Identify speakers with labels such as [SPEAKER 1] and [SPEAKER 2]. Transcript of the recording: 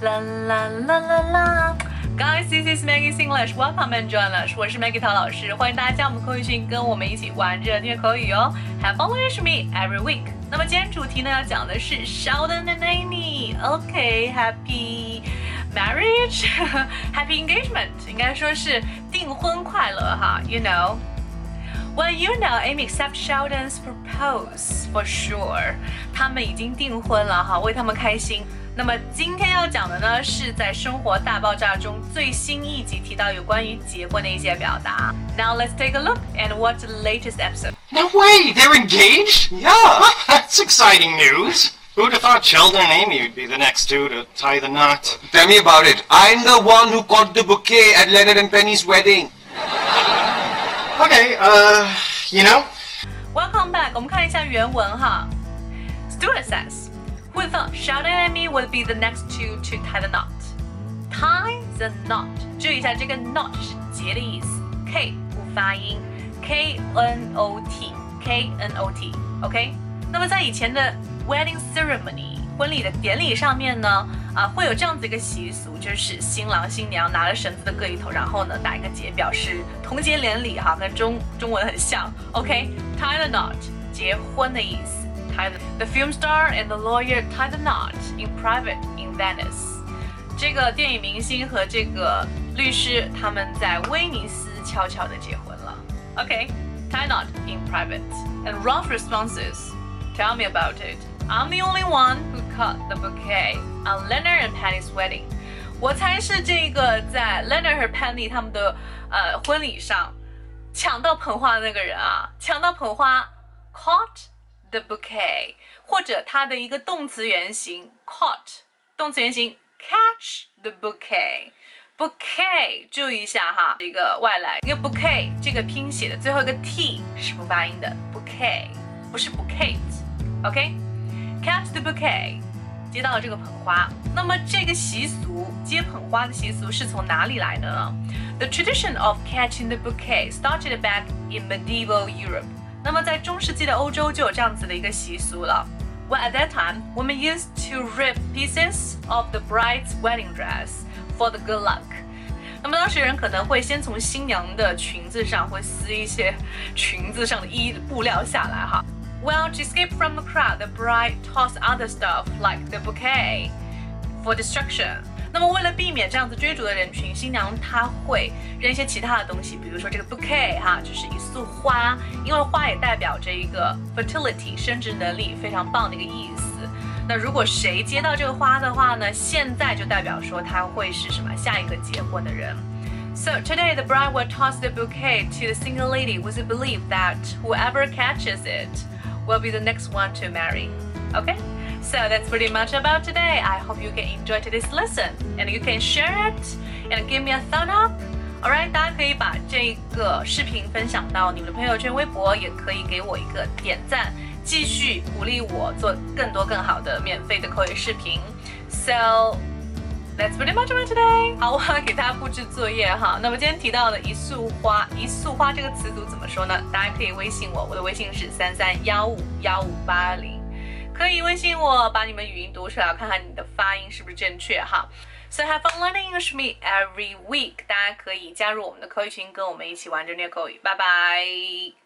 [SPEAKER 1] 啦啦啦啦啦。Guys, this is Maggie's English. Welcome and join us. 我是 Maggie 陶老师，欢迎大家加入我们口语群，跟我们一起玩热虐口语哦。Have fun with me every week. 那么今天主题呢要讲的是 Sheldon and Amy. OK, happy marriage, happy engagement. 应该说是订婚快乐哈。You know. Well, you know, Amy accepts Sheldon's propose for sure. 他们已经订婚了哈，为他们开心。那么今天要讲的呢，是在《生活大爆炸》中最新一集提到有关于结婚的一些表达。Now let's take a look and watch the latest episode.
[SPEAKER 2] No way! They're engaged? Yeah, that's exciting news. Who'd have thought Sheldon and Amy would be the next two to tie the knot?
[SPEAKER 3] Tell me about it. I'm the one who caught the bouquet at Leonard and Penny's wedding.
[SPEAKER 2] Okay, you know?
[SPEAKER 1] Welcome back. 我们看一下原文哈。Stuart says.Who thought Sheldon and Amy would be the next two to tie the knot? Tie the knot. 注意一下，这个 knot 是结的意思 ，K 不发音 ，K-N-O-T，K-N-O-T，OK？、那么在以前的 wedding ceremony 婚礼的典礼上面呢，会有这样子一个习俗，就是新郎新娘拿了绳子的各一头，然后呢打一个结，表示同结连理哈，跟中文很像 ，OK？Tie the knot， 结婚的意思。The film star and the lawyer tie the knot in private in Venice. 这个电影明星和这个律师他们在威尼斯悄悄地结婚了。Okay, tie knot in private. And Ralph responses, "Tell me about it. I'm the only one who caught the bouquet on Leonard and Penny's wedding." 我才是这个在 Leonard 和 Penny 他们的婚礼上抢到捧花的那个人啊，抢到捧花 caught.The bouquet， 或者它的一个动词原形 caught， 动词原形 catch the bouquet。bouquet 注意一下哈，一个外来，一个 bouquet 这个拼写的最后一个 t 是不发音的 bouquet， 不是 bouquet，OK？catch the bouquet， 接到了这个捧花。那么这个习俗，接捧花的习俗是从哪里来的呢？ The tradition of catching the bouquet started back in medieval Europe。那么在中世纪的欧洲就有这样子的一个习俗了。Well, at that time, women used to rip pieces of the bride's wedding dress for the good luck. 那么当时人可能会先从新娘的裙子上会撕一些裙子上的布料下来哈。Well, to escape from the crowd, the bride tossed other stuff like the bouquet for destruction.那么为了避免这样子追逐的人群，新娘她会扔一些其他的东西，比如说这个 bouquet 哈，就是一束花，因为花也代表着一个 fertility 生殖能力非常棒的一个意思。那如果谁接到这个花的话呢，现在就代表说他会是什么下一个结婚的人。So today the bride will toss the bouquet to the single lady with the belief that whoever catches it will be the next one to marry. Okay?So that's pretty much about today. I hope you can enjoy today's lesson and you can share it and give me a thumb up. Alright, 大家可以把这个视频分享到你们的朋友圈、微博，也可以给我一个点赞，继续鼓励我做更多更好的免费的口语视频。So that's pretty much about today. 好，我要给大家布置作业哈。那么今天提到的一束花这个词组怎么说呢？大家可以微信我，我的微信是33151580。可以微信我，把你们语音读出来，我看看你的发音是不是正确哈。So have fun learning English with me every week. 大家可以加入我们的口语群，跟我们一起玩着虐口语。拜拜。